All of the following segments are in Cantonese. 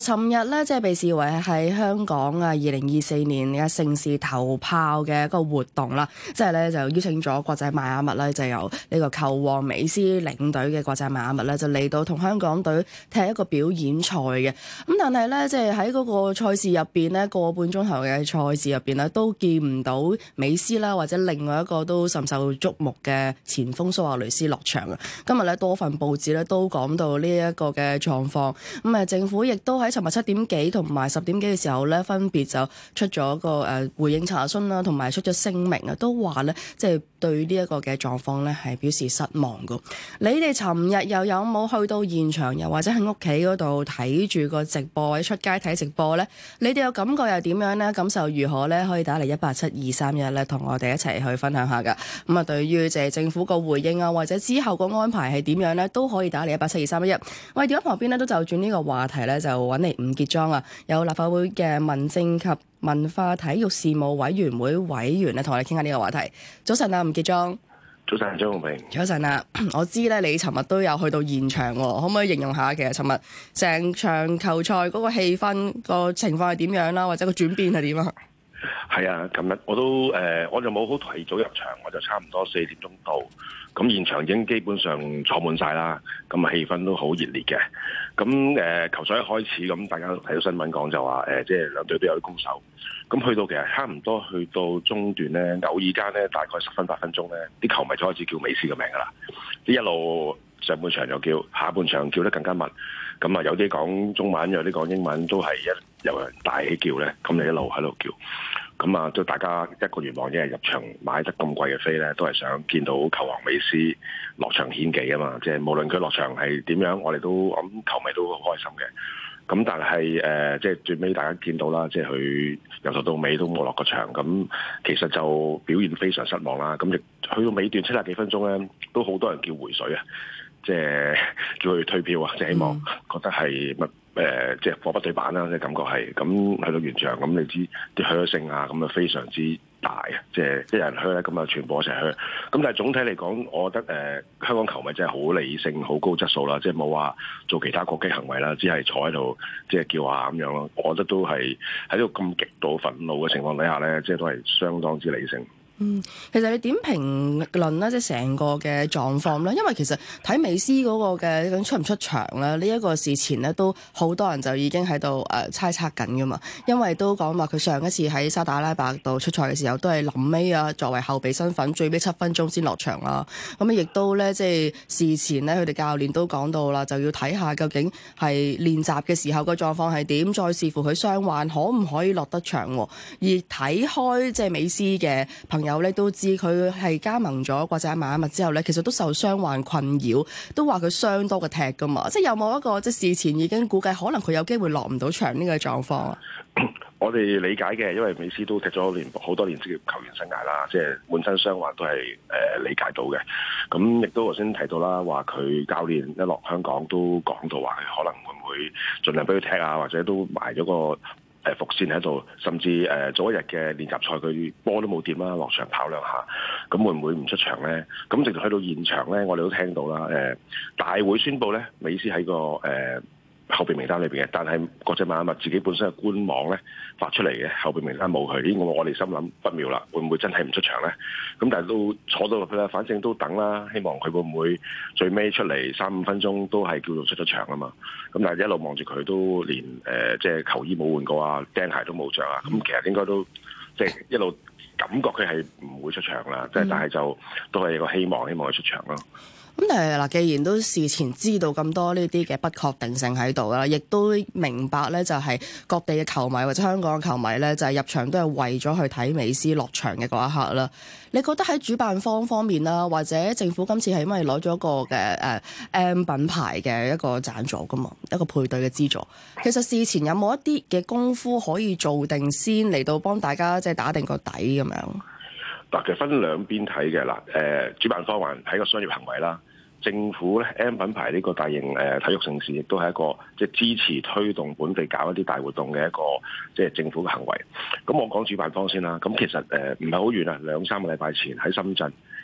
尋日咧，即係被視為喺香港2024年嘅盛事頭炮嘅一個活動啦，即係咧就邀請咗國際邁阿密咧，就由呢個球王美斯領隊嘅國際邁阿密咧，就嚟到同香港隊踢一個表演賽嘅。咁但係咧，即係喺嗰個賽事入邊呢，個半鐘頭嘅賽事入邊呢，都見唔到美斯啦，或者另外一個都甚受矚目嘅前鋒蘇亞雷斯落場啊。今日咧多份報紙咧都講到呢一個嘅狀況，咁政府亦都喺尋日7點幾同埋10點幾嘅時候咧，分別就出咗個回應查詢啦，同埋出咗聲明啊，都話咧即係對呢一個嘅狀況咧係表示失望噶。你哋尋日又有冇去到現場，又或者喺屋企嗰度睇住個直播，或者出街睇直播咧？你哋嘅感覺又點樣咧？感受如何咧？可以打嚟18723咧，同我哋一齊去分享下噶。咁啊，對於就係政府個回應啊，或者之後個安排係點樣咧，都可以打嚟1872311。我哋電話旁邊咧都就轉呢個話題咧，就揾嚟吳傑莊啊，有立法會嘅民政及文化體育事務委員會委員咧，同我哋傾下呢個話題。早晨啊，吳傑莊。 早晨，張紅平。 早晨啊，我知咧你尋日都有去到現場喎，可唔可以形容下其實尋日成場球賽嗰個氣氛個情況係點樣啦，或者個轉變係點啊？ 係啊，琴日我都我就冇好提早入場，我就差唔多4點鐘到，咁現場已經基本上坐滿晒啦，咁啊氣氛都好熱烈嘅。咁球賽一開始，咁大家都睇到新聞講就話即係兩隊都有啲攻守，咁去到其實差唔多去到中段咧，偶爾間咧大概10分8分鐘咧，啲球迷就開始叫美斯嘅名噶啦，一路上半場又叫，下半場叫得更加密，咁啊有啲講中文，有啲講英文，都係有人大起叫咧，咁你一路喺度叫。咁啊，都大家一個願望，一係入場買得咁貴嘅飛咧，都係想見到球王美斯落場獻技啊嘛！即係無論佢落場係點樣，我哋都咁球迷都好開心嘅。咁但係即係最尾大家見到啦，即係佢由頭到尾都冇落過場，咁其實就表現非常失望啦。咁亦去到尾段70幾分鐘咧，都好多人叫回水啊！即係叫佢退票啊！即係希望覺得係即係貨不對版啦，即係感覺係咁去到現場，咁你知啲噓聲啊，咁啊非常之大啊！即係一人噓咧，咁啊全部一齊噓。咁但係總體嚟講，我覺得香港球迷真係好理性、好高質素啦，即係冇話做其他過激行為啦，只係坐喺度即係叫下咁樣咯。我覺得都係喺呢個咁極度憤怒嘅情況底下咧，即係都係相當之理性。 其實你點評論咧，即係成個嘅狀況咧？因為其實睇美斯嗰個嘅出唔出場咧，呢一個事前咧都好多人就已經喺度猜測緊噶嘛。因為都講話佢上一次喺沙特阿拉伯度出賽嘅時候，都係臨尾啊，作為後備身份，最尾7分鐘先落場啦。咁亦都咧即係事前咧，佢哋教練都講到啦，就要睇下究竟係練習嘅時候個狀況係點，再視乎佢傷患可唔可以落得場。而睇開即係美斯嘅朋友咧都知佢係加盟咗國際邁阿密之後咧，其實都受傷患困擾，都話佢傷多過踢噶嘛。即係有冇一個即係事前已經估計可能佢有機會落唔到場呢個狀況啊？ 我哋理解嘅，因為美斯都踢咗好多年職業球員生涯啦，即係滿身傷患都係理解到嘅。咁亦都頭先提到啦，話佢教練一落香港都講到話，佢可能會唔會盡量俾佢踢啊，或者都埋咗個伏線喺度，甚至早一日嘅練習賽佢波都冇掂啦，落場跑2下，咁會唔會唔出場咧？咁直到去到現場咧，我哋都聽到啦，大會宣佈咧，美斯喺個後備名單裏邊嘅，但係國際邁阿密自己本身嘅官網咧發出嚟嘅後備名單冇佢，呢個我哋心諗不妙啦，會唔會真係唔出場咧？咁但係都坐到落去啦，反正都等啦，希望佢會唔會最尾出嚟3-5分鐘都係叫做出咗場啊嘛。咁但係一路望住佢都連即係球衣冇換過啊，釘鞋都冇着啊，咁其實應該都即係一路感覺佢係唔會出場啦，即係但係就都係一個希望佢出場咯。 咁但係嗱，既然都事前知道咁多呢啲嘅不確定性喺度啦，亦都明白咧，就係各地嘅球迷或者香港嘅球迷咧，就係入場都係為咗去睇美斯落場嘅嗰一刻啦。你覺得喺主辦方面啦，或者政府今次係因為攞咗個嘅M 品牌嘅一個贊助噶嘛，一個配對嘅資助，其實事前有冇一啲嘅功夫可以做定先嚟到幫大家即係打定個底咁樣？ 嗱，其實分兩邊睇嘅啦。主辦方還係個商業行為啦。政府咧 M 品牌呢個大型體育盛事，亦都係一個即係支持推動本地搞一啲大活動嘅一個即係政府嘅行為。咁我講主辦方先啦。咁其實唔係好遠啊，2-3個禮拜前喺深圳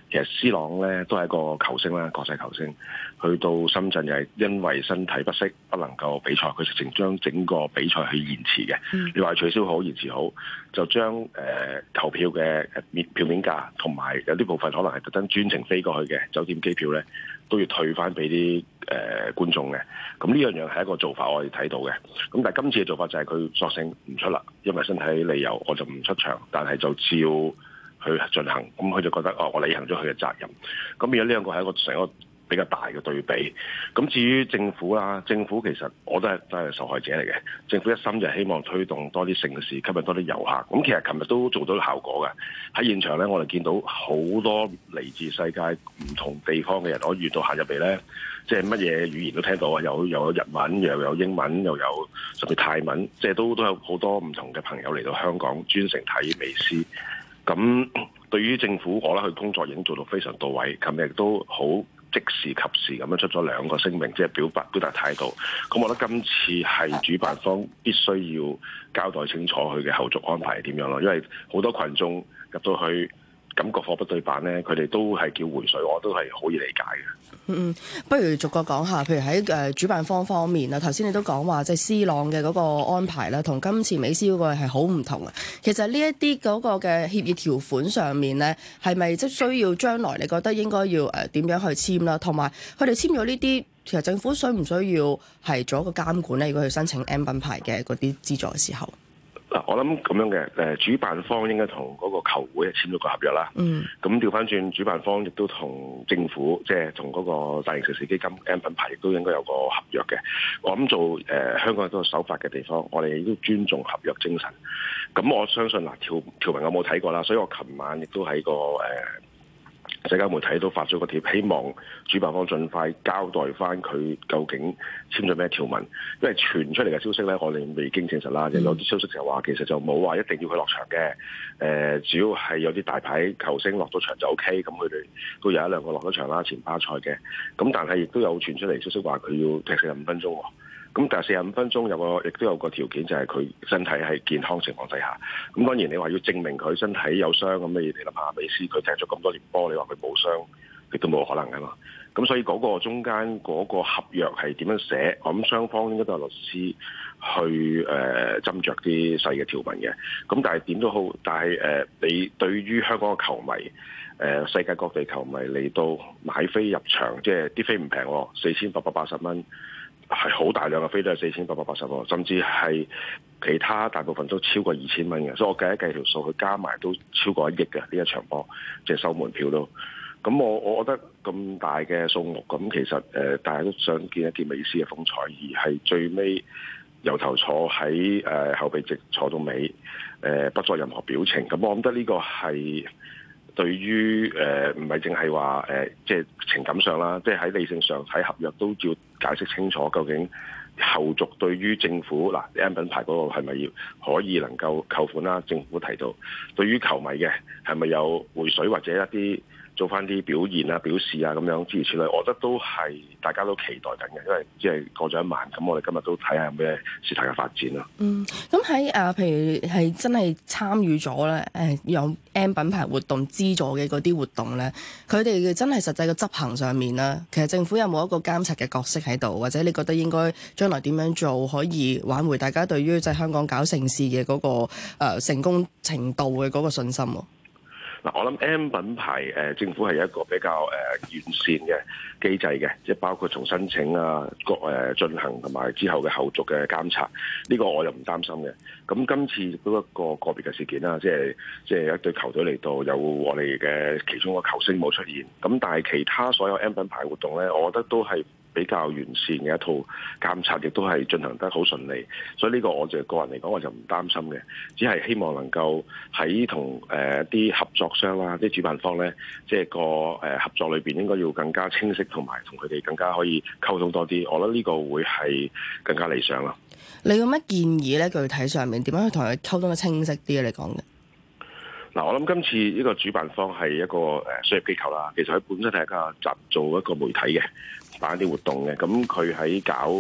其實 C 朗咧都係一個球星啦，國際球星，去到深圳又係因為身體不適不能夠比賽，佢直情將整個比賽去延遲嘅。你話取消好延遲好，就將球票嘅票面價同埋有啲部分可能係特登專程飛過去嘅酒店機票咧，都要退翻俾啲觀眾嘅。咁呢樣嘢係一個做法，我哋睇到嘅。咁但係今次嘅做法就係佢索性唔出啦，因為身體理由我就唔出場，但係就照去進行。咁佢就覺得我履行咗佢嘅責任。咁變咗呢兩個係一個成個比較大嘅對比。咁至於政府啦，政府其實我都係受害者嚟嘅。政府一心就係希望推動多啲盛事，吸引多啲遊客。咁其實琴日都做到效果嘅。喺現場咧，我哋見到好多嚟自世界唔同地方嘅人，我沿途行入嚟咧，即係乜嘢語言都聽到啊！又有日文，又有英文，又有甚至泰文，即係都有好多唔同嘅朋友嚟到香港專程睇美斯。咁對於政府，我覺得佢工作已經做到非常到位。琴日亦都好即時及時咁樣出咗2個聲明，即係表達態度。咁我覺得今次係主辦方必須要交代清楚佢嘅後續安排係點樣咯，因為好多群眾入到去感覺貨不對辦咧，佢哋都係叫回水，我都係好易理解嘅。 不如逐個講下，譬如喺主辦方方面啦，頭先你都講話即係 C 朗嘅嗰個安排啦，同今次美斯嗰個係好唔同啊。其實呢一啲嗰個嘅協議條款上面咧，係咪即係需要將來你覺得應該要點樣去簽啦？同埋佢哋簽咗呢啲，其實政府需唔需要係做一個監管咧？如果去申請 M 品牌嘅嗰啲資助嘅時候？ 嗱，我諗咁樣嘅，主辦方應該同嗰個球會簽咗個合約啦。咁調翻轉，主辦方亦都同政府，即係同嗰個大型盛事基金 M 品牌，亦都應該有個合約嘅。我諗做香港都係守法嘅地方，我哋亦都尊重合約精神。咁我相信嗱，條文我冇睇過啦，所以我琴晚亦都喺個社交媒體都發咗個帖，希望主辦方盡快交代翻佢究竟簽咗咩條文，因為傳出嚟嘅消息咧，我哋未經證實啦。有啲消息就話其實就冇話一定要佢落場嘅，只要係有啲大牌球星落咗場就 OK， 咁佢哋都有1-2個落咗場啦，前巴塞嘅。咁但係亦都有傳出嚟消息話佢要踢45分鐘喎。咁但係45分鐘亦都有個條件，就係佢身體係健康情況底下。咁當然你話要證明佢身體有傷，咁你諗下美斯佢踢咗咁多年波，你話佢冇傷，亦都冇可能噶嘛。咁所以嗰個中間嗰個合約係點樣寫？我諗雙方應該都有律師去斟酌啲細嘅條文嘅。咁但係點都好，但係你對於香港嘅球迷，世界各地球迷嚟到買飛入場，即係啲飛唔平喎，4880蚊。係好大量嘅飛都係4880喎，甚至係其他大部分都超過2000蚊嘅，所以我計一計條數，佢加埋都超過1億嘅呢一場波，即係收門票都。咁我覺得咁大嘅數目，咁其實大家都想見一見美斯嘅風采，而係最尾由頭坐喺後備席坐到尾，不作任何表情。咁我覺得呢個係對於唔係淨係話即係情感上啦，即係喺理性上喺合約都要解釋清楚，究竟後續對於政府嗱 M 品牌嗰個係咪要可以能夠扣款啦？政府提到對於球迷嘅係咪有回水或者一啲做翻啲表現啊、表示啊咁樣諸如此類，我覺得都係大家都期待緊嘅，因為即係過咗1晚，咁我哋今日都睇下有咩事態嘅發展咯。 咁喺譬如係真係參與咗咧，有 M 品牌活動資助嘅嗰啲活動咧，佢哋真係實際嘅執行上面咧，其實政府有冇一個監察嘅角色喺度，或者你覺得應該將來點樣做可以挽回大家對於即係香港搞盛事嘅嗰個成功程度嘅嗰個信心？ 嗱，我諗 M 品牌政府係一個比較完善嘅機制嘅，即係包括從申請啊、進行同埋之後嘅後續嘅監察，呢個我又唔擔心嘅。咁今次都一個個別嘅事件啦，即係一隊球隊嚟到有我哋嘅其中一個球星冇出現，咁但係其他所有 M 品牌活動咧，我覺得都係比較完善嘅一套監察，亦都係進行得好順利，所以呢個我就個人嚟講，我就唔擔心嘅，只係希望能夠喺同啲合作商啦、啲主辦方咧，即係個合作裏邊應該要更加清晰，同埋同佢哋更加可以溝通多啲，我覺得呢個會係更加理想咯。 你有乜建議咧？具體上面點樣去同佢溝通得清晰啲你講嘅？ 嗱，我諗今次呢個主辦方係一個商業機構啦，其實佢本身係一個做一個媒體嘅，辦一啲活動嘅，咁佢喺搞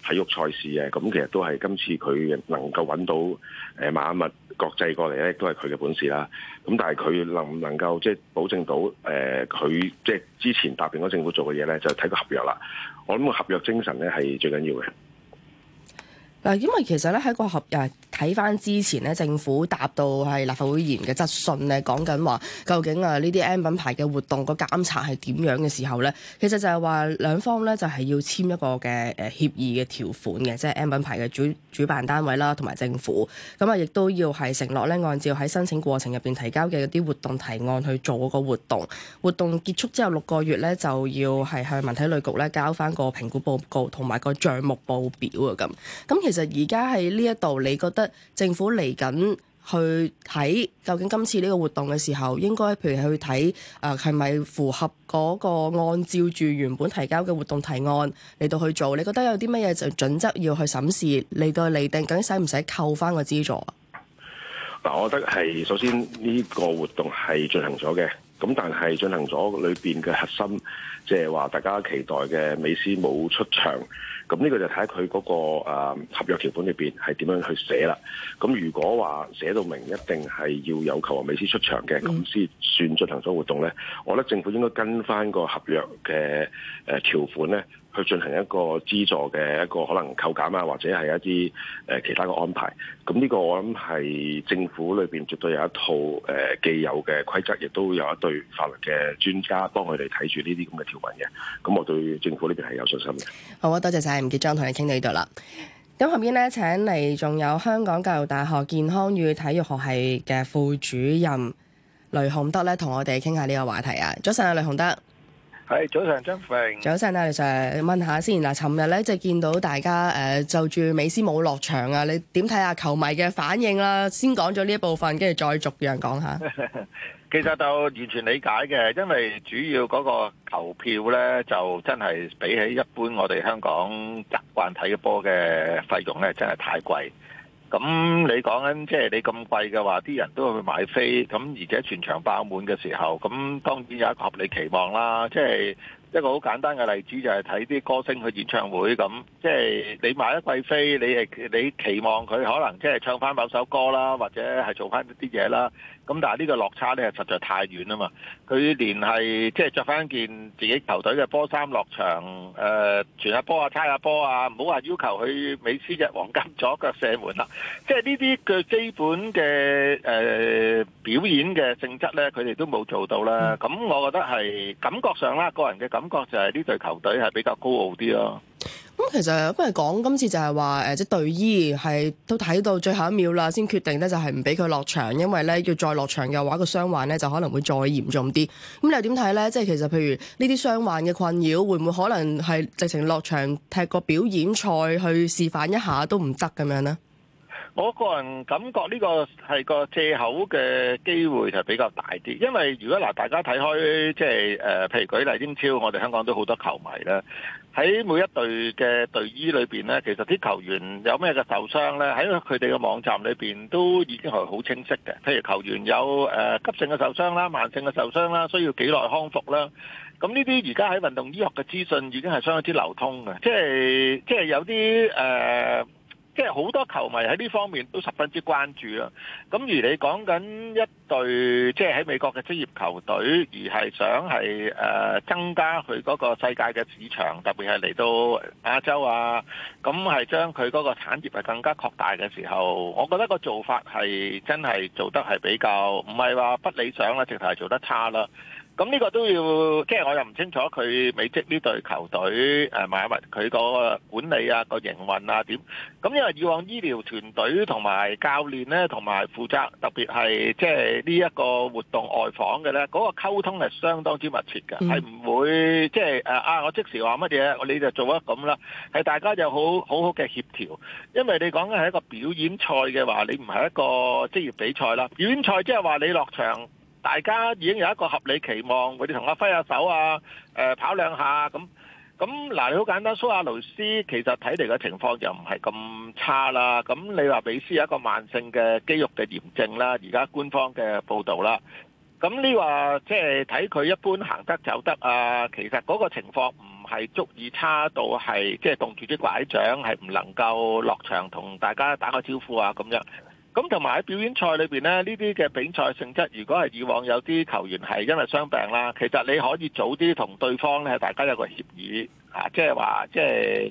體育賽事嘅，咁其實都係今次佢能夠揾到邁阿密國際過嚟咧，都係佢嘅本事啦。咁但係佢能唔能夠即係保證到佢即係之前答應咗政府做嘅嘢咧，就睇個合約啦。我諗個合約精神咧係最緊要嘅。 嗱，因為其實咧喺個合約睇翻之前咧，政府答到係立法會議員嘅質詢咧，講緊話究竟呢啲 M 品牌嘅活動個監察係點樣嘅時候咧，其實就係話兩方咧就係要簽一個嘅協議嘅條款嘅，即係 M 品牌嘅主辦單位啦，同埋政府咁啊，亦都要係承諾咧，按照喺申請過程入邊提交嘅啲活動提案去做嗰個活動。活動結束之後6個月咧，就要係向文體旅局咧交翻個評估報告同埋個帳目報表啊咁。其實而家喺呢一度，你覺得政府嚟緊去睇究竟今次呢個活動嘅時候，應該譬如去睇係咪符合嗰個按照住原本提交嘅活動提案嚟到去做？你覺得有啲乜嘢就準則要去審視嚟到釐定，究竟使唔使扣翻個資助啊？ 嗱，我覺得係首先呢個活動係進行咗嘅，咁但係進行咗裏邊嘅核心，即係話大家期待嘅美斯冇出場。咁呢個就睇下佢嗰個合約條款裏邊係點樣去寫啦。咁如果話寫到明一定係要有球王美斯出場嘅，咁先算進行咗活動咧。我覺得政府應該跟翻個合約嘅條款咧，去進行一個資助嘅一個可能扣減啊，或者係一啲其他嘅安排。咁呢個我諗係政府裏邊絕對有一套既有嘅規則，亦都有一隊法律嘅專家幫佢哋睇住呢啲咁嘅條文嘅。咁我對政府呢邊係有信心嘅。 好啊，多謝晒吳傑莊同你傾到呢度啦。咁後邊咧請嚟仲有香港教育大學健康與體育學系嘅副主任雷雄德咧，同我哋傾下呢個話題啊。早晨啊，雷雄德。 係，早上張榮。 早晨啊，雷 Sir， 問下先嗱，尋日咧就見到大家就住美斯冇落場啊，你點睇下球迷嘅反應啦？先講咗呢一部分，跟住再逐樣講下。 其實就完全理解嘅，因為主要嗰個球票咧，就真係比起一般我哋香港習慣睇嘅波嘅費用咧，真係太貴。咁你講緊即係你咁貴嘅話，啲人都會去買飛，咁而且全場爆滿嘅時候，咁當然有一個合理期望啦。即係一個好簡單嘅例子就係睇啲歌星去演唱會咁，即係你買一季飛，你期望佢可能即係唱翻某首歌啦，或者係做翻啲嘢啦。咁但係呢個落差咧，實在太遠啊嘛！佢連係即係着翻件自己球隊嘅波衫落場，傳下波啊、猜下波啊，唔好話要求佢美斯隻黃金左腳射門啦。即係呢啲嘅基本嘅表演嘅性質咧，佢哋都冇做到啦。咁我覺得係感覺上啦，個人嘅感覺就係呢隊球隊係比較高傲啲咯。 咁其實不如講今次就係話即係隊醫係都睇到最後一秒啦，先決定咧就係唔俾佢落場，因為咧要再落場嘅話，個傷患咧就可能會再嚴重啲。咁你又點睇咧？即係其實譬如呢啲傷患嘅困擾，會唔會可能係直情落場踢個表演賽去示範一下都唔得咁樣呢？ 我個人感覺呢個係個藉口嘅機會就比較大啲，因為如果大家睇開即係譬如舉例英超，我哋香港都好多球迷啦。喺每一隊嘅隊醫裏邊咧，其實啲球員有咩嘅受傷咧，喺佢哋嘅網站裏邊都已經係好清晰嘅。譬如球員有急性嘅受傷啦、慢性嘅受傷啦，需要幾耐康復啦。咁呢啲而家喺運動醫學嘅資訊已經係相當之流通嘅，即係有啲即係好多球迷喺呢方面都十分之關注啦。咁而你講緊一隊即係喺美國嘅職業球隊，而係想係增加佢嗰個世界嘅市場，特別係嚟到亞洲啊，咁係將佢嗰個產業係更加擴大嘅時候，我覺得個做法係真係做得係比較唔係話不理想啦，直頭係做得差啦。咁呢個都要，即係我又唔清楚佢美職呢隊球隊邁阿密佢個管理啊、個營運啊點。咁因為以往醫療團隊同埋教練咧，同埋負責特別係即係呢一個活動外訪嘅咧，嗰個溝通係相當之密切嘅，係唔會即係我即時話乜嘢，你就做一咁啦。係大家有好好嘅協調，因為你講緊係一個表演賽嘅話，你唔係一個職業比賽啦。表演賽即係話你落場，大家已經有一個合理期望，佢哋同我揮下手啊，跑兩下咁。嗱，你好簡單，蘇亞雷斯其實睇嚟嘅情況又唔係咁差啦。咁你話美斯有一個慢性嘅肌肉嘅炎症啦，而家官方嘅報導啦。咁你話即係睇佢一般行得走得啊，其實嗰個情況唔係足以差到係即係棟住啲拐杖，係唔能夠落場同大家打個招呼啊咁樣。咁同埋喺表演賽裏邊咧，呢啲嘅比賽性質，如果係以往有啲球員係因為傷病啦，其實你可以早啲同對方咧，大家有個協議啊，即係話即係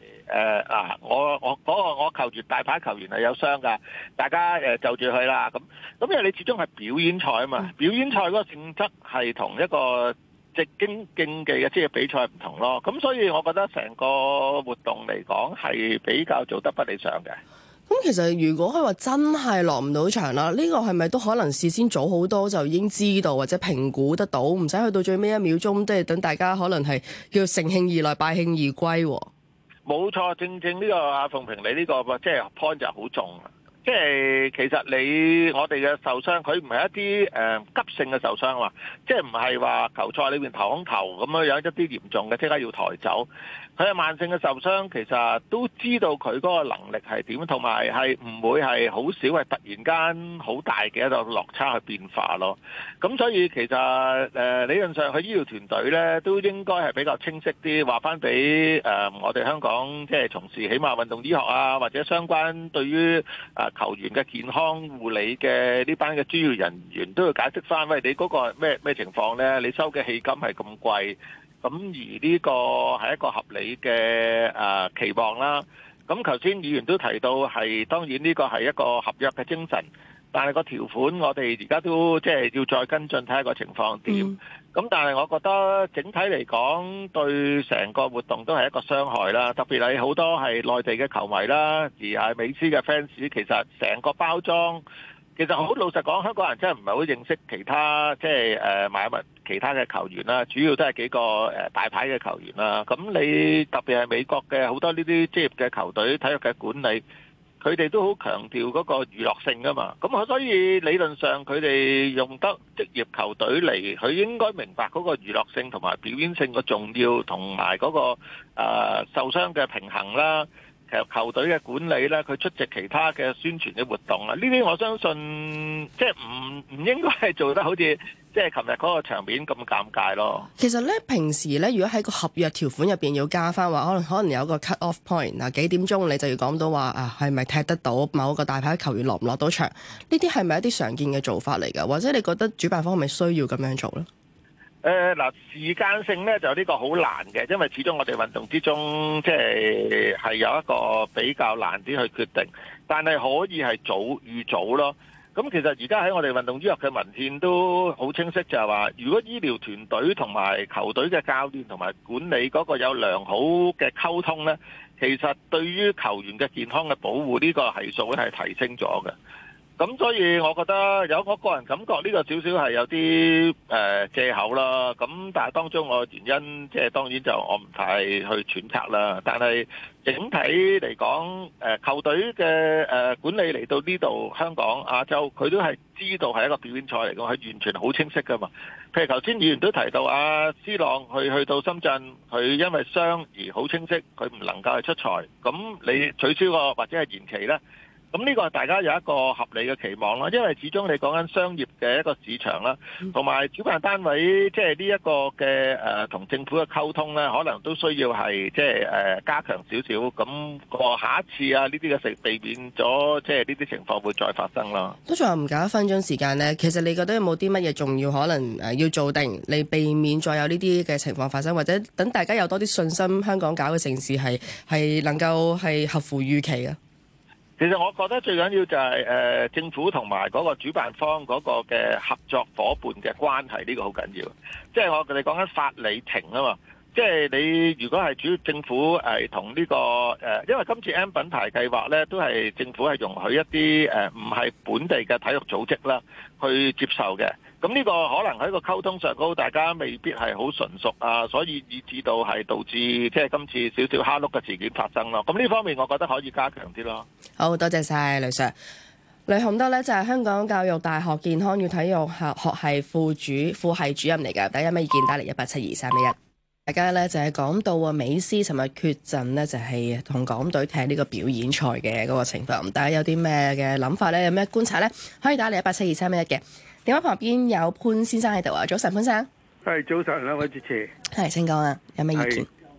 我球員大牌球員係有傷㗎，大家就住佢啦。咁因為你始終係表演賽啊嘛，表演賽嗰個性質係同一個直經競技嘅職業比賽唔同咯。咁所以我覺得成個活動嚟講係比較做得不理想嘅。 咁其實如果佢話真係落唔到場啦，呢個係咪都可能事先早好多就已經知道或者評估得到，唔使去到最尾一秒鐘，即係等大家可能係叫乘興而來敗興而歸？ 冇錯，正呢個阿鳳平你呢個即係 point 就好重。即係其實我哋嘅受傷，佢唔係一啲急性嘅受傷嘛，即係唔係話球賽裏邊頭空頭咁樣有一啲嚴重嘅即刻要抬走。佢係慢性嘅受傷，其實都知道佢嗰個能力係點，同埋係唔會係好少係突然間好大嘅一個落差去變化咯。咁所以其實理論上佢醫療團隊咧都應該係比較清晰啲，話翻俾我哋香港即係從事起碼運動醫學啊，或者相關對於球員嘅健康護理嘅呢班嘅專業人員都要解釋翻，喂，你嗰個咩情況咧？你收嘅戲金係咁貴。咁而呢個係一個合理嘅期望啦。咁頭先議員都提到係當然呢個係一個合約嘅精神，但係個條款我哋而家都即係要再跟進睇下個情況點。咁但係我覺得整體嚟講對成個活動都係一個傷害啦。特別係好多係內地嘅球迷啦，而係美斯嘅 fans，其實成個包裝。其實好老實講，香港人真係唔係好認識其他即係邁阿密其他嘅球員啦，主要都係幾個大牌嘅球員啦。咁你特別係美國嘅好多呢啲職業嘅球隊、體育嘅管理，佢哋都好強調嗰個娛樂性㗎嘛。咁所以理論上佢哋用得職業球隊嚟，佢應該明白嗰個娛樂性同埋表演性嘅重要，同埋嗰個受傷嘅平衡啦。其實球隊嘅管理咧，佢出席其他嘅宣傳嘅活動啊，呢啲我相信即係唔應該係做得好似即係琴日嗰個場面咁尷尬咯。 其實咧，平時咧，如果喺個合約條款入邊要加翻話，可能有個 cut off point 啊，幾點鐘你就要講到話啊，係咪踢得到某個大牌球員落唔落到場？呢啲係咪一啲常見嘅做法嚟㗎？或者你覺得主辦方係咪需要咁樣做咧？ 時間性咧就呢個好難嘅，因為始終我哋運動之中即係有一個比較難啲去決定，但係可以係預早咯。咁其實而家喺我哋運動醫學嘅文獻都好清晰，就係話，如果醫療團隊同埋球隊嘅教練同埋管理嗰個有良好嘅溝通咧，其實對於球員嘅健康嘅保護呢個係數咧係提升咗嘅。咁所以我覺得我個人感覺呢個少少係有啲藉口啦。咁但係當中個原因即係當然就我唔太去揣測啦。但係整體嚟講，球隊嘅管理嚟到呢度香港亞洲，佢都係知道係一個表演賽嚟講，係完全好清晰噶嘛。譬如頭先議員都提到C朗去到深圳，佢因為傷而好清晰，佢唔能夠係出賽。咁你取消個或者係延期呢？咁呢個大家有一個合理嘅期望啦，因為始終你講緊商業嘅一個市場啦，同埋主辦單位即係呢一個嘅同政府嘅溝通咧，可能都需要係即係加強少少，咁個下一次呢啲嘅避免咗即係呢啲情況會再發生啦。 都仲有唔夠1分鐘時間咧，其實你覺得有冇啲乜嘢重要可能要做定，嚟避免再有呢啲嘅情況發生，或者等大家有多啲信心，香港搞嘅盛事係能夠係合乎預期啊？ 其實我覺得最緊要就係政府同埋嗰個主辦方嗰個嘅合作夥伴嘅關係，呢個好緊要。即係我哋講緊法理情啊嘛。即係你如果係主要政府同呢個因為今次 M 品牌計劃咧，都係政府係容許一啲唔係本地嘅體育組織啦去接受嘅。咁呢個可能喺個溝通上高，大家未必係好純熟所以以至到係導致即係今次少少蝦碌嘅事件發生咯。咁呢方面我覺得可以加強啲咯。 好多謝晒雷 Sir。雷雄德咧就係香港教育大學健康與體育學系副系主任嚟嘅。大家有咩意見打嚟1872311。大家咧就係講到美斯尋日缺陣咧，就係同港隊踢呢個表演賽嘅嗰個情況。大家有啲咩嘅諗法咧？有咩觀察咧？可以打嚟1872311嘅。電話旁邊有潘先生喺度啊，早晨潘生。 係早晨，兩位主持。 係，請講啊，有咩意見？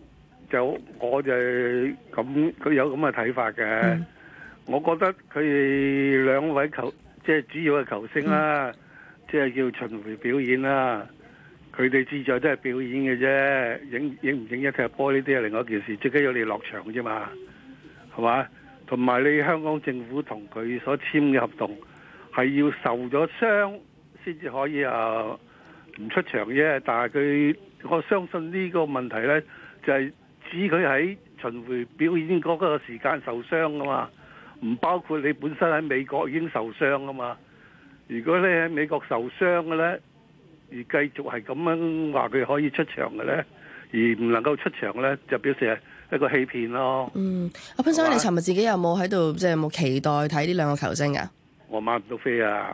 我就咁，佢有咁嘅睇法嘅。我覺得佢哋兩位即係主要嘅球星啦，即係叫巡迴表演啦。佢哋志在都係表演嘅啫，影唔影一踢波呢啲係另外一件事，最緊要你落場啫嘛，係嘛？同埋你香港政府同佢所簽嘅合同係要受咗傷先至可以唔出場啫。但係我相信呢個問題呢，就係指佢喺巡迴表演嗰個時間受傷噶嘛，唔包括你本身喺美國已經受傷噶嘛。如果你喺美國受傷嘅呢，而繼續係咁樣話佢可以出場嘅呢，而唔能夠出場呢，就表示係一個欺騙咯。 阿潘生，你尋日自己有冇喺度，即係有冇期待睇呢兩個球星啊？ 我買唔到飛啊！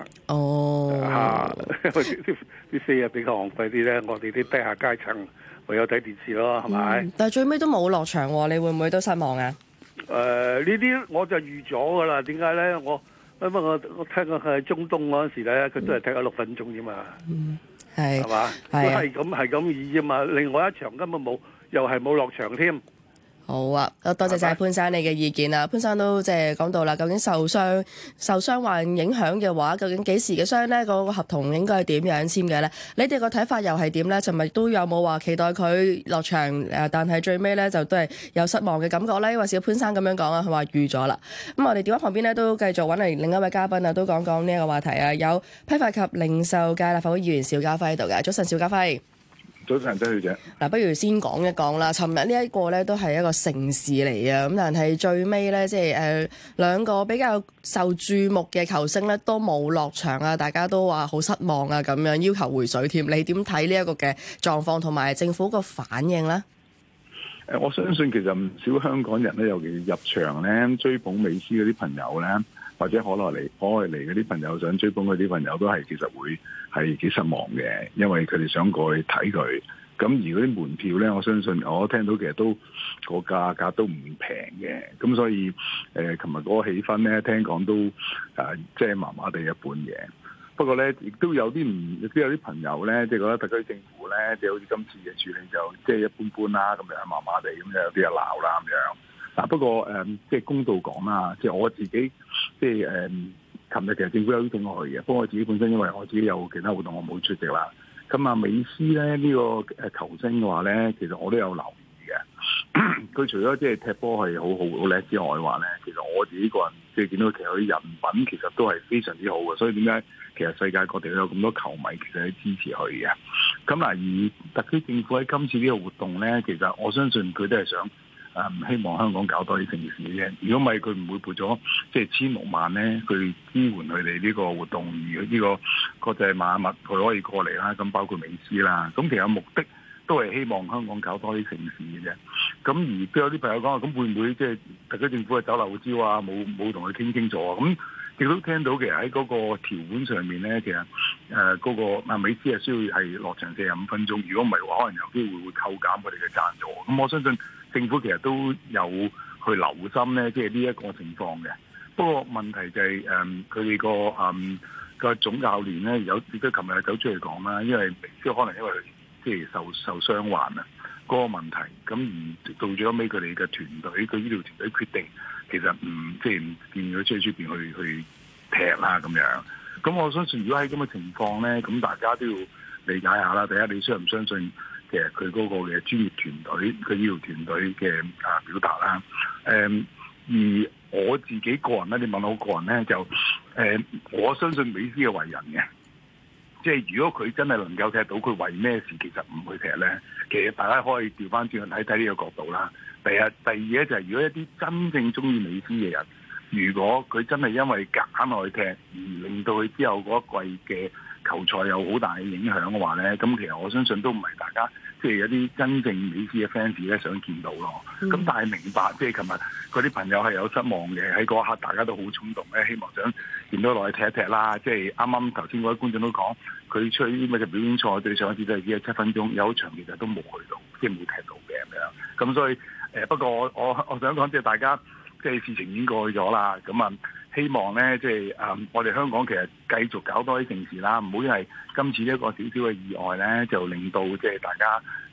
啲飛比較昂貴啲咧，我哋啲低下階層唯有睇電視咯，係咪？ 但係最尾都冇落場喎，你會唔會都失望啊？ 呢啲我就預咗噶啦。點解咧？因為我聽過佢喺中東嗰陣時咧，佢都係踢咗6分鐘啫嘛。係嘛？都係咁意啫嘛。另外一場根本冇，又係冇落場添。好啊，多謝晒潘生你嘅意見啦。潘生都即係講到啦，究竟受傷患影響嘅話，究竟幾時嘅傷呢？個合同應該係點樣簽嘅呢？你哋個睇法又係點呢？尋日都有冇話期待佢落場？但係最尾呢，就都係有失望嘅感覺呢？因為小潘生咁樣講啊，佢話預咗啦。咁我哋電話旁邊呢，都繼續揾嚟另一位嘉賓啊，都講呢一個話題啊。有批發及零售界立法會議員邵家輝喺度嘅。早晨，邵家輝。 早晨，周小姐。 嗱，不如先講一講啦。尋日呢一個咧都係一個盛事嚟啊，咁但係最尾咧，即係兩個比較受注目嘅球星咧都冇落場啊，大家都話好失望啊，咁樣要求回水添。你點睇呢一個嘅狀況同埋政府個反應咧？ 我相信其實唔少香港人咧，尤其入場咧追捧美斯嗰啲朋友咧，或者可外嚟嗰啲朋友想追捧嗰啲朋友都係其實會係幾失望嘅，因為佢哋想過去睇佢。咁而嗰啲門票咧，我相信我聽到其實都個價格都唔平嘅。咁所以琴日嗰個氣氛咧，聽講都即係麻麻地一般嘅。不過咧，亦都有啲朋友咧，即係覺得特區政府咧，即係好似今次嘅處理就即係一般般啦，咁樣麻麻地咁樣，有啲人鬧啦咁樣。嗱，不過即係公道講啦，即係我自己即係琴日其實政府有邀請我去嘅，不過我自己本身因為我自己有其他活動，我冇出席啦。咁啊，美斯咧呢個球星嘅話咧，其實我都有留意嘅。佢除咗即係踢波係好叻之外嘅話咧，其實我自己個人即係見到其實佢人品其實都係非常之好嘅。所以點解其實世界各地都有咁多球迷其實係支持佢嘅。咁嗱，而特區政府喺今次呢個活動咧，其實我相信佢都係想希望香港搞多啲盛事嘅啫。如果唔係，佢唔會撥咗即係1600萬咧去支援佢哋呢個活動。而呢個國際邁阿密佢可以過嚟啦，咁包括美斯啦。咁其實目的都係希望香港搞多啲盛事嘅啫。咁而都有啲朋友講話，咁會唔會即係特區政府係走漏招啊？冇同佢傾清楚啊？咁亦都聽到其實喺嗰個條款上面咧，其實嗰個美斯係需要係落場45分鐘。如果唔係嘅話，可能有機會扣減佢哋嘅贊助。咁我相信政府其實都有去留心咧，即係呢一個情況嘅。不過問題就係佢哋個總教練咧，亦都琴日走出嚟講啦，因為美斯可能因為即係受傷患啊嗰個問題，咁而到咗尾佢哋嘅團隊，佢醫療團隊決定其實唔見佢出邊去踢啦咁樣。咁我相信如果喺咁嘅情況咧，咁大家都要理解下啦。第一，你相唔相信其實佢嗰個嘅專業團隊、佢醫療團隊嘅表達啦？而我自己個人咧，你問我個人咧，就我相信美斯嘅為人嘅，即係如果佢真係能夠踢到，佢為咩事其實唔去踢咧？其實大家可以調翻轉去睇呢個角度啦。第二咧就係如果一啲真正中意美斯嘅人，如果佢真係因為揀落去踢而令到佢之後嗰一季嘅球賽有好大嘅影響嘅話咧，咁其實我相信都唔係大家即係有啲真正美斯嘅 fans 咧想見到咯。咁但係明白，即係琴日嗰啲朋友係有失望嘅，喺嗰一刻大家都好衝動咧，希望想見到落去踢一踢啦。即係啱啱頭先嗰位觀眾都講，佢出去啲乜嘅表演賽對上一次都係只係7分鐘，有一場其實都冇去到，即係冇踢到嘅咁樣。咁所以不過我想講，即係大家即係事情已經過去咗啦。咁希望咧，即係我哋香港其實繼續搞多啲盛事啦，唔好因為今次呢一個少少嘅意外咧，就令到即係大家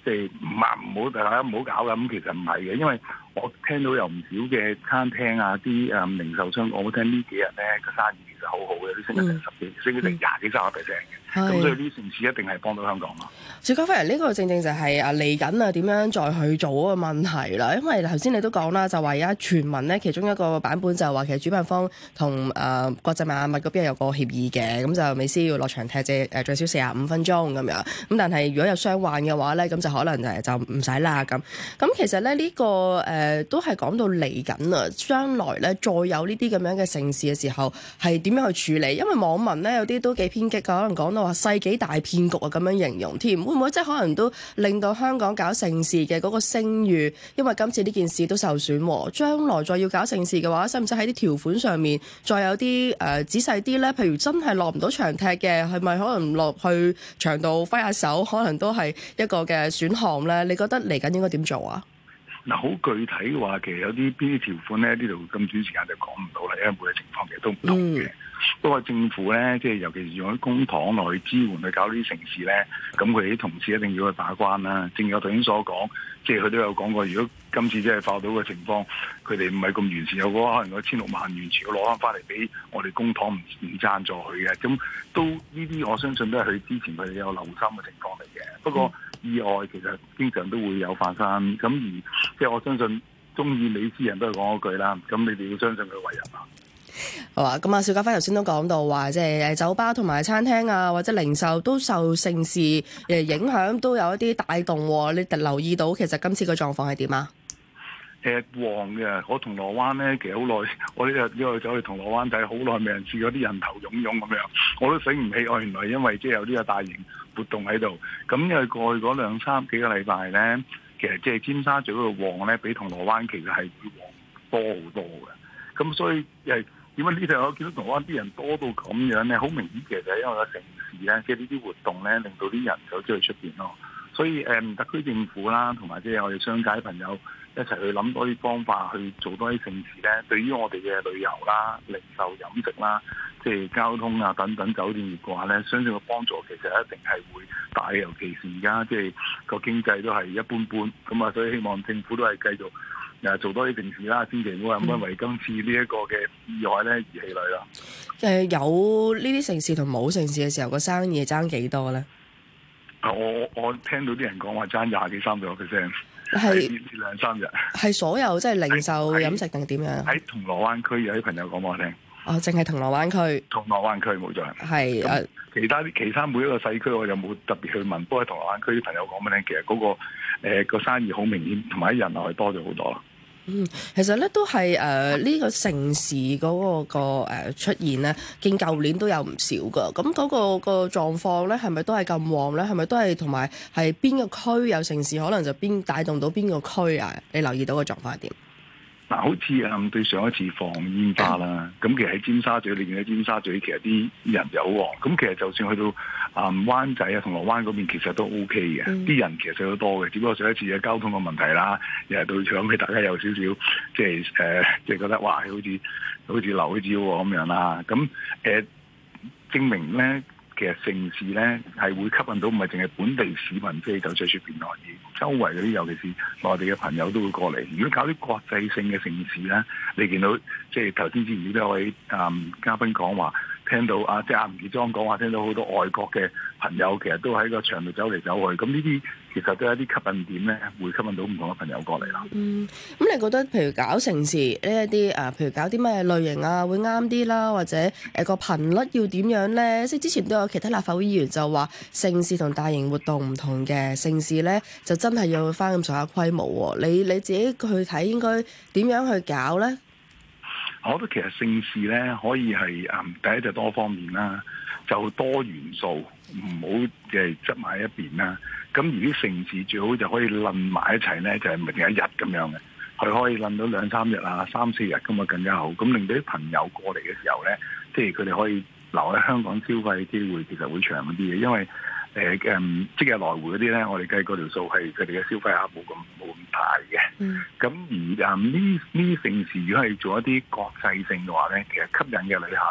即係唔好大家唔好搞啦。咁其實唔係嘅，因為我聽到有唔少嘅餐廳啊，啲零售商講，我聽呢幾日咧個生意其實好好嘅，啲升咗成10幾，升咗成20幾30%嘅。咁所以呢城市一定係幫到香港咯。 邵家輝，呢個正正就係嚟緊點樣再去做嗰個問題啦。因為頭先你都講啦，就話而家傳聞咧，其中一個版本就係話其實主辦方同國際邁阿密嗰邊有個協議嘅，咁就美斯要落場踢最少45分鐘咁樣。咁但係如果有傷患嘅話咧，咁就可能就唔使啦咁。咁其實咧呢個都係講到嚟緊啊，將來咧再有呢啲咁樣嘅盛事嘅時候，係點樣去處理？因為網民咧有啲都幾偏激㗎，可能講到話世紀大騙局啊咁樣形容添，會唔會即係可能都令到香港搞盛事嘅嗰個聲譽，因為今次呢件事都受損喎，將來再要搞盛事嘅話，使唔使喺啲條款上面再有啲仔細啲咧？譬如真係落唔到場踢嘅，係咪可能落去場度揮下手，可能都係一個嘅選項咧？你覺得嚟緊應該點做啊？ 嗱，好具體嘅話，其實有啲邊啲條款咧，呢度咁短時間就講唔到啦，因為每個情況其實都唔同嘅。不過政府咧，即係尤其是用啲公帑落去支援去搞呢啲城市咧，咁佢哋啲同事一定要去把關啦。正如我頭先所講，即係佢都有講過，如果今次真係爆到嘅情況，佢哋唔係咁完善，有嗰可能嗰16萬完全要攞翻翻嚟俾我哋公帑唔贊助佢嘅，咁都呢啲我相信都係佢之前佢哋有留心嘅情況嚟嘅。不過意外其實經常都會有發生，咁而即係我相信中意美斯人都係講嗰句啦，咁你哋要相信佢為人啊。 好啊，咁邵家輝頭先都講到話，即係酒吧同埋餐廳啊，或者零售都受盛事影響，都有一啲帶動。你留意到其實今次個狀況係點啊？ 旺嘅，我銅鑼灣咧，其實好耐，我呢日走去銅鑼灣睇，好耐未人試過啲人頭湧湧咁樣，我都醒唔起，原來因為即係有呢個大型活動喺度。咁因為過去嗰2、3幾個禮拜咧，其實即係尖沙咀嗰度旺咧，比銅鑼灣其實係會旺多好多嘅。咁所以點解呢度我見到銅鑼灣啲人多到咁樣咧？好明顯其實係因為個城市咧，即係呢啲活動咧，令到啲人走出去出邊咯。所以特區政府啦，同埋即係我哋商界朋友一齊去諗多啲方法去做多啲盛事咧。對於我哋嘅旅遊啦、零售飲食啦、即係交通啊等等酒店業嘅話咧，相信個幫助其實一定係會大嘅。尤其是而家即係個經濟都係一般般，咁啊，所以希望政府都係繼續做多啲盛事啦，千祈唔好因為今次呢一個嘅意外咧而氣餒啦。 有呢啲盛事同冇盛事嘅時候，個生意爭幾多咧？ 我聽到啲人講話爭20幾30%， 係呢2、3日。係所有即係零售飲食定點樣？ 喺銅鑼灣區有啲朋友講俾我聽。 哦，淨係銅鑼灣區。銅鑼灣區冇錯。 係其他每一個細區我就冇特別去問，不過喺銅鑼灣區啲朋友講俾你聽，其實嗰個生意好明顯，同埋人流係多咗好多啦。 其實咧都係呢個盛事嗰個出現咧，見舊年都有唔少噶。咁嗰個狀況咧，係咪都係咁旺咧？係咪都係同埋係邊個區有盛事，可能就邊帶動到邊個區啊？你留意到個狀況係點？ 嗱，好似對上一次放煙花啦，咁其實喺尖沙咀，你見到尖沙咀其實啲人就好旺。咁其實就算去到灣仔啊、銅鑼灣嗰邊，其實都 OK 嘅，啲人其實都多嘅。只不過上一次嘅交通嘅問題啦，又係到場俾大家有少少即係即係覺得哇，好似流咗招咁樣啦。咁證明咧，其實盛事咧係會吸引到唔係淨係本地市民，即係走出去出邊內地，周圍嗰啲尤其是內地嘅朋友都會過嚟。如果搞啲國際性嘅盛事咧，你見到即係頭先之前都有位嘉賓講話，聽到即係阿吳傑莊講話，聽到好多外國嘅朋友其實都喺個場度走嚟走去，咁呢啲其實都有啲吸引點咧，會吸引到唔同嘅朋友過嚟啦。 咁你覺得譬如搞盛事呢一啲譬如搞啲咩類型啊，會啱啲啦，或者個頻率要點樣咧？即係之前都有其他立法會議員就話，盛事同大型活動唔同嘅，盛事咧就真係要翻咁上下規模喎。你自己去睇應該點樣去搞咧？ 我覺得其實盛事咧可以係第一就多方面啦，就多元素，唔好嘅執埋一邊啦。咁而啲盛事最好就可以攬埋一齊咧，就係唔係淨係一日咁樣嘅，佢可以攬到2、3日啊、3、4日咁啊更加好。咁令到啲朋友過嚟嘅時候咧，即係佢哋可以留喺香港消費嘅機會其實會長啲嘅，因為即係來回嗰啲咧，我哋計嗰條數係佢哋嘅消費額冇咁大嘅。咁而呢啲盛事如果係做一啲國際性嘅話咧，其實吸引嘅旅客咧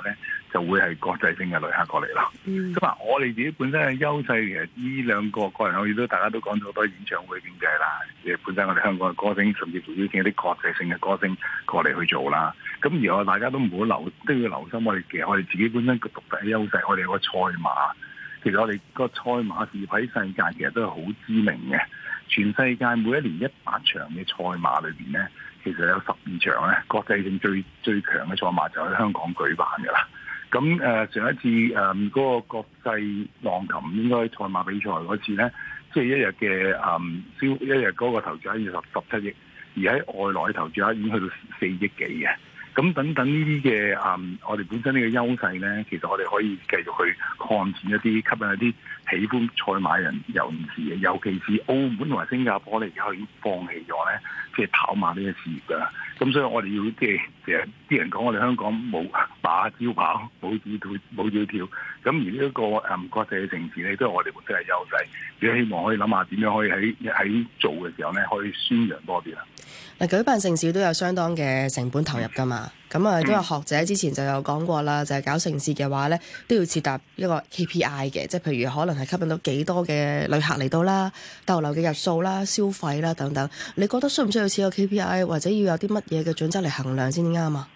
就會係國際性嘅旅客過嚟咯。咁啊，我哋自己本身嘅優勢其實呢兩個個人可以都大家都講咗好多演唱會經濟啦，本身我哋香港嘅歌星甚至乎邀請一啲國際性嘅歌星過嚟去做啦。咁而我大家都唔好都要留心我哋自己本身個獨特嘅優勢，我哋有個賽馬。其實我哋個賽馬事業喺世界其實都係好知名嘅，全世界每一年100場嘅賽馬裏邊咧，其實有12場咧國際性最強嘅賽馬就喺香港舉辦㗎啦。咁上一次嗰個國際浪琴應該賽馬比賽嗰次咧，即係一日嘅一日嗰個投注額要17億，而喺外來投注額已經去到4億幾嘅。咁等等呢啲嘅我哋本身呢個優勢咧，其實我哋可以繼續去擴展一啲，吸引一啲喜歡賽馬人尤其是澳門同埋新加坡咧，而家已經放棄咗咧，即係跑馬呢個事業㗎。咁所以我哋要即係成日啲人講我哋香港冇馬照跑，冇照跳。咁而呢一個國際嘅城市咧，都係我哋本身嘅優勢。亦都希望可以諗下點樣可以喺做嘅時候咧，可以宣揚多啲啦。 嗱，舉辦盛事都有相當嘅成本投入㗎嘛。咁啊，都有學者之前就有講過啦，就係搞盛事嘅話咧，都要設立一個 KPI 嘅，即係譬如可能係吸引到幾多嘅旅客嚟到啦、逗留嘅日數啦、消費啦等等。你覺得需唔需要設個 KPI，或者要有啲乜嘢嘅準則嚟衡量先啱啊？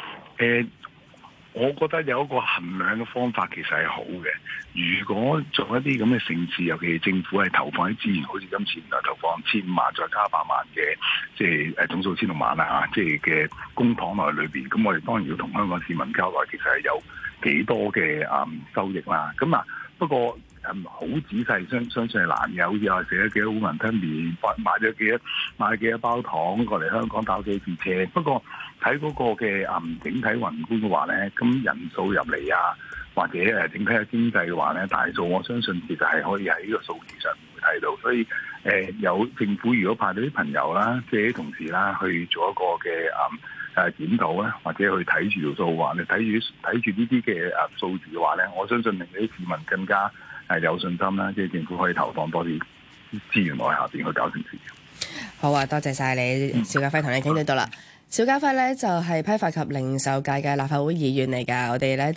我覺得有一個衡量嘅方法其實係好嘅。如果做一啲咁嘅盛事，尤其是政府係投放啲資源，好似今次投放1,000萬再加100萬嘅，即係總數1,600萬啦，即係嘅公帑內裏邊，咁我哋當然要同香港市民交代，其實係有幾多嘅收益啦。咁不過好仔細相信係難嘅，好似我寫咗幾多碗雲吞麵，買幾多包糖過嚟香港打幾次車。不過睇嗰個嘅整體宏觀嘅話咧，咁人數入嚟啊，或者整體嘅經濟嘅話咧，大數我相信其實係可以喺呢個數字上面會睇到。所以有政府如果派到啲朋友啦，即係啲同事啦，去做一個嘅檢討啦，或者去睇住條數話，你睇住呢啲嘅數字嘅話咧，我相信令啲市民更加有信心啦，即係政府可以投放多啲資源落去下邊去搞盛事。 好啊，多謝晒你，邵家輝同你傾到啦。邵家輝咧就係批發及零售界嘅立法會議員嚟㗎，我哋咧。